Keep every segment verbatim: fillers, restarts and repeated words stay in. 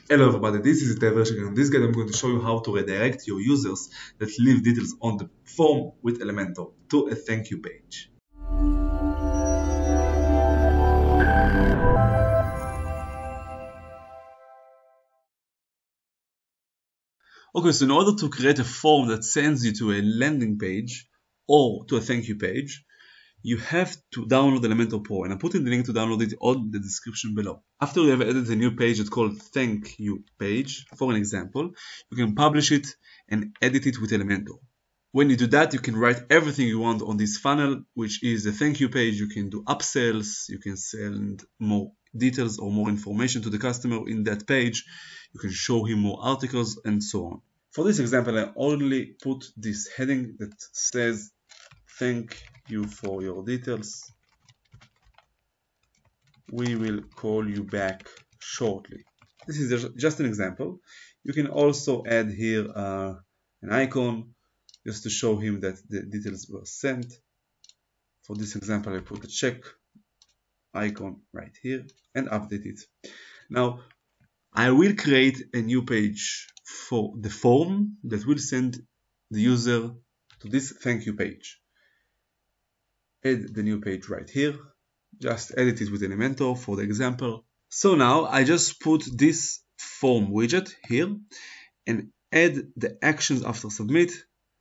Hello everybody, this is Ita Vershik, and in this guide I'm going to show you how to redirect your users that leave details on the form with Elementor to a thank you page. Okay, so in order to create a form that sends you to a landing page or to a thank you page, you have to download Elementor Pro, and I'm putting the link to download it on the description below. After you have added a new page that's called thank you page, for an example, you can publish it and edit it with Elementor. When you do that, you can write everything you want on this funnel, which is the thank you page. You can do upsells, you can send more details or more information to the customer in that page, you can show him more articles, and so on. For this example, I only put this heading that says thank you for your details. We will call you back shortly. This is just an example. You can also add here uh, an icon just to show him that the details were sent. For this example, I put a check icon right here and update it. Now, I will create a new page for the form that will send the user to this thank you page. Add the new page right here. Just edit it with Elementor for the example. So now I just put this form widget here and add the actions after submit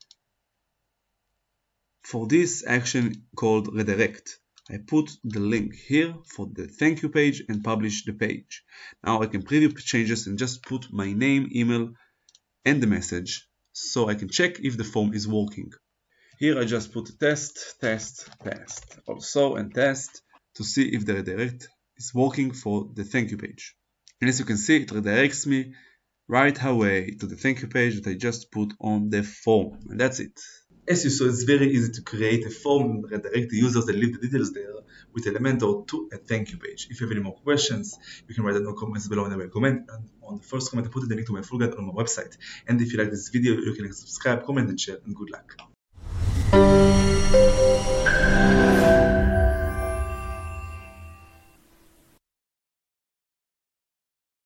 for this action called redirect. I put the link here for the thank you page and publish the page. Now I can preview changes and just put my name, email, and the message so I can check if the form is working. Here I just put test, test, test, also and test to see if the redirect is working for the thank you page. And as you can see, it redirects me right away to the thank you page that I just put on the form. And that's it. As you saw, it's very easy to create a form and redirect the users and leave the details there with Elementor to a thank you page. If you have any more questions, you can write it in the comments below and I will comment. And on the first comment, I put the link to my full guide on my website. And if you like this video, you can subscribe, comment, and share, and good luck.